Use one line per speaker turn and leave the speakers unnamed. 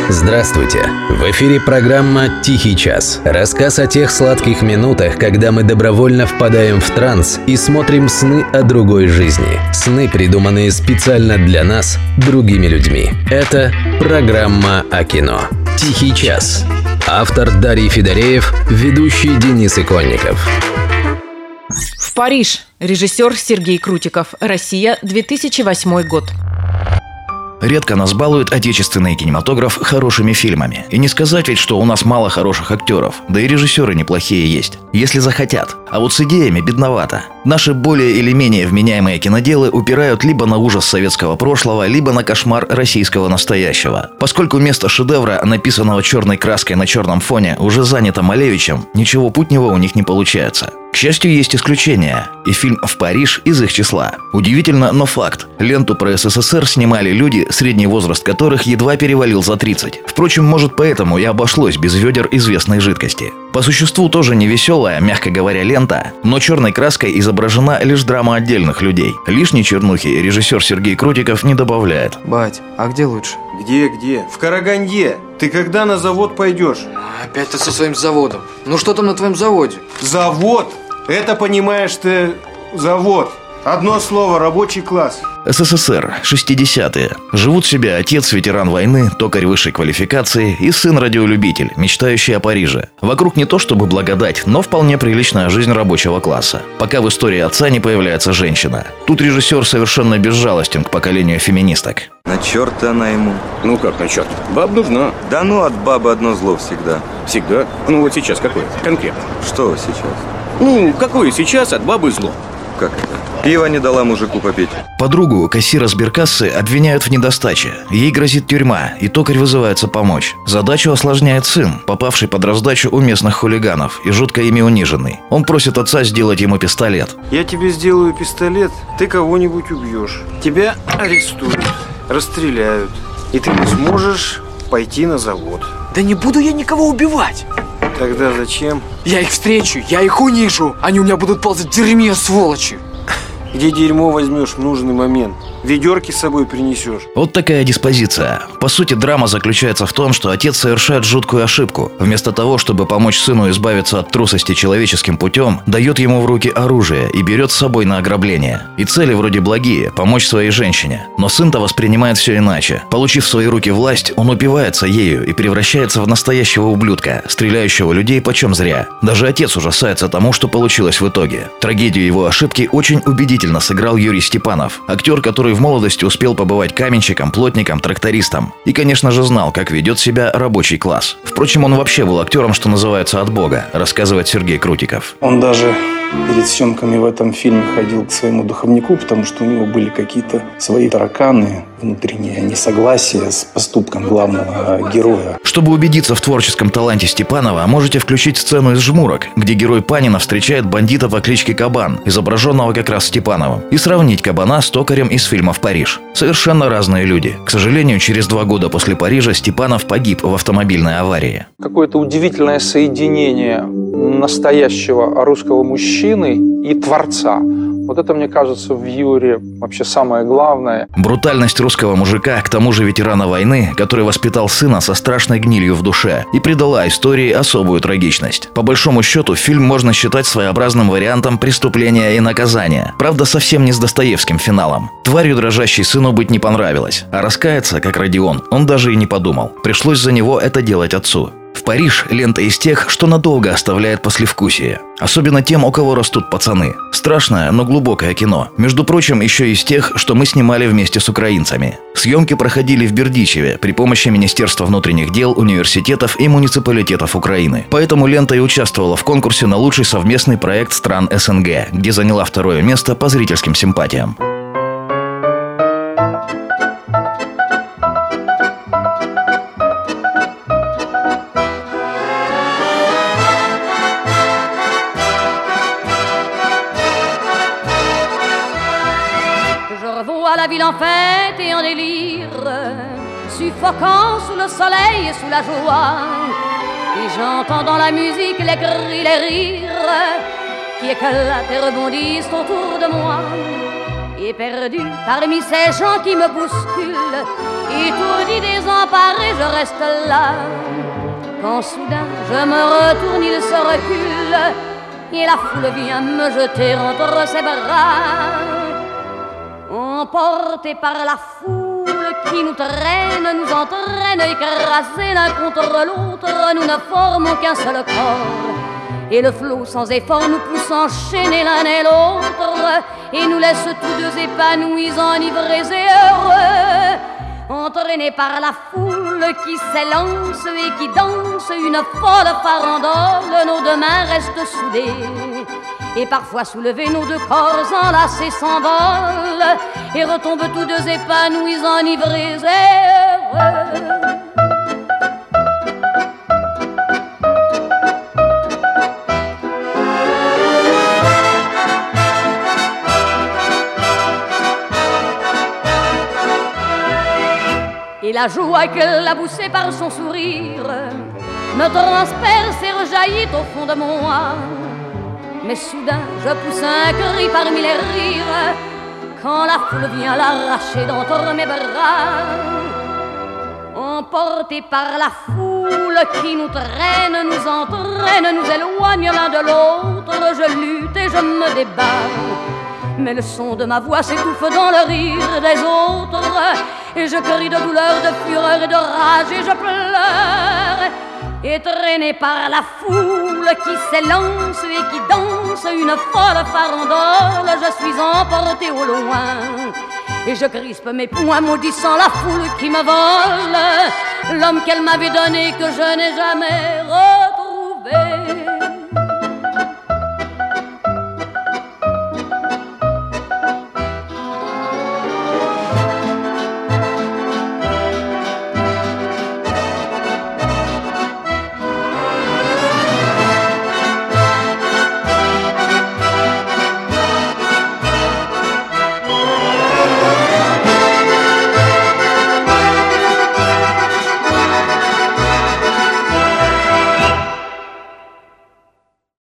Здравствуйте! В эфире программа «Тихий час». Рассказ о тех сладких минутах, когда мы добровольно впадаем в транс и смотрим сны о другой жизни. Сны, придуманные специально для нас, другими людьми. Это программа о кино. «Тихий час». Автор Дарий Федореев, ведущий Денис Иконников.
В Париж. Режиссер Сергей Крутиков. Россия, 2008 год.
Редко нас балует отечественный кинематограф хорошими фильмами. И не сказать ведь, что у нас мало хороших актеров. Да и режиссеры неплохие есть, если захотят. А вот с идеями бедновато. Наши более или менее вменяемые киноделы упирают либо на ужас советского прошлого, либо на кошмар российского настоящего. Поскольку место шедевра, написанного черной краской на черном фоне, уже занято Малевичем, ничего путнего у них не получается. К счастью, есть исключения, и фильм «В Париж» из их числа. Удивительно, но факт. Ленту про СССР снимали люди, средний возраст которых едва перевалил за 30. Впрочем, может, поэтому и обошлось без ведер известной жидкости. По существу тоже не веселая, мягко говоря, лента, но черной краской изображена лишь драма отдельных людей. Лишней чернухи режиссер Сергей Крутиков не добавляет.
Бать, а где лучше?
Где? В Караганде. Ты когда на завод пойдешь?
Опять ты со своим заводом. Ну что там на твоем заводе?
Завод? Это, понимаешь ты, завод. Одно слово – рабочий класс.
СССР, 60-е. Живут себе отец, ветеран войны, токарь высшей квалификации и сын-радиолюбитель, мечтающий о Париже. Вокруг не то чтобы благодать, но вполне приличная жизнь рабочего класса. Пока в истории отца не появляется женщина. Тут режиссер совершенно безжалостен к поколению феминисток.
На черта она ему.
Ну как на черт? Баб нужна.
Да ну, от бабы одно зло всегда.
Всегда? Ну вот сейчас какое? Конкретно.
Что сейчас?
Ну, какое сейчас от бабы зло?
Как это? Пиво не дала мужику попить.
Подругу, кассира сберкассы, обвиняют в недостаче. Ей грозит тюрьма, и токарь вызывается помочь. Задачу осложняет сын, попавший под раздачу у местных хулиганов и жутко ими униженный. Он просит отца сделать ему пистолет.
Я тебе сделаю пистолет, ты кого-нибудь убьешь. Тебя арестуют, расстреляют, и ты не сможешь пойти на завод.
Да не буду я никого убивать.
Тогда зачем?
Я их встречу, я их унижу. Они у меня будут ползать в дерьме, сволочи.
Где дерьмо возьмешь в нужный момент? Ведерки с собой принесешь.
Вот такая диспозиция. По сути, драма заключается в том, что отец совершает жуткую ошибку. Вместо того, чтобы помочь сыну избавиться от трусости человеческим путем, дает ему в руки оружие и берет с собой на ограбление. И цели вроде благие – помочь своей женщине. Но сын-то воспринимает все иначе. Получив в свои руки власть, он упивается ею и превращается в настоящего ублюдка, стреляющего людей почем зря. Даже отец ужасается тому, что получилось в итоге. Трагедию его ошибки очень убедительно сыграл Юрий Степанов, актер, который в молодости успел побывать каменщиком, плотником, трактористом. И, конечно же, знал, как ведет себя рабочий класс. Впрочем, он вообще был актером, что называется, от бога, рассказывает Сергей Крутиков.
Он даже перед съемками в этом фильме ходил к своему духовнику, потому что у него были какие-то свои тараканы, внутренние несогласия с поступком главного героя.
Чтобы убедиться в творческом таланте Степанова, можете включить сцену из «Жмурок», где герой Панина встречает бандита по кличке Кабан, изображенного как раз Степановым, и сравнить Кабана с токарем из фильма «В Париж». Совершенно разные люди. К сожалению, через 2 года после Парижа Степанов погиб в автомобильной аварии.
Какое-то удивительное соединение настоящего русского мужчины и творца. Вот это, мне кажется, в Юре вообще самое главное.
Брутальность русского мужика, к тому же ветерана войны, который воспитал сына со страшной гнилью в душе и придала истории особую трагичность. По большому счету, фильм можно считать своеобразным вариантом преступления и наказания. Правда, совсем не с Достоевским финалом. Тварью дрожащей сыну быть не понравилось. А раскаяться, как Родион, он даже и не подумал. Пришлось за него это делать отцу. «В Париж» – лента из тех, что надолго оставляет послевкусие. Особенно тем, у кого растут пацаны. Страшное, но глубокое кино. Между прочим, еще из тех, что мы снимали вместе с украинцами. Съемки проходили в Бердичеве при помощи Министерства внутренних дел, университетов и муниципалитетов Украины. Поэтому лента и участвовала в конкурсе на лучший совместный проект стран СНГ, где заняла 2-е место по зрительским симпатиям.
La ville en fête et en délire, suffoquant sous le soleil et sous la joie. Et j'entends dans la musique les cris, les rires qui éclatent et rebondissent autour de moi. Et perdu parmi ces gens qui me bousculent, étourdi, désemparé, je reste là. Quand soudain je me retourne, il se recule et la foule vient me jeter entre ses bras. Emportés par la foule qui nous traîne, nous entraîne, écrasés l'un contre l'autre, nous ne formons qu'un seul corps. Et le flot sans effort nous pousse enchaîner l'un et l'autre et nous laisse tous deux épanouis, enivrés et heureux. Entraînés par la foule qui s'élance et qui danse une folle farandole, nos deux mains restent soudées. Et parfois soulevés, nos deux corps enlacés s'envolent et retombent tous deux épanouis, enivrés et heureux. Et la joie qu'elle a poussée par son sourire me transperce et rejaillit au fond de moi. Mais soudain je pousse un cri parmi les rires quand la foule vient l'arracher d'entre mes bras. Emportés par la foule qui nous traîne, nous entraîne, nous éloigne l'un de l'autre, je lutte et je me débat. Mais le son de ma voix s'étouffe dans le rire des autres et je crie de douleur, de fureur et de rage et je pleure. Et traîné par la foule qui s'élance et qui danse une folle farandole, je suis emporté au loin et je crispe mes poings maudissant la foule qui me vole l'homme qu'elle m'avait donné que je n'ai jamais retrouvé.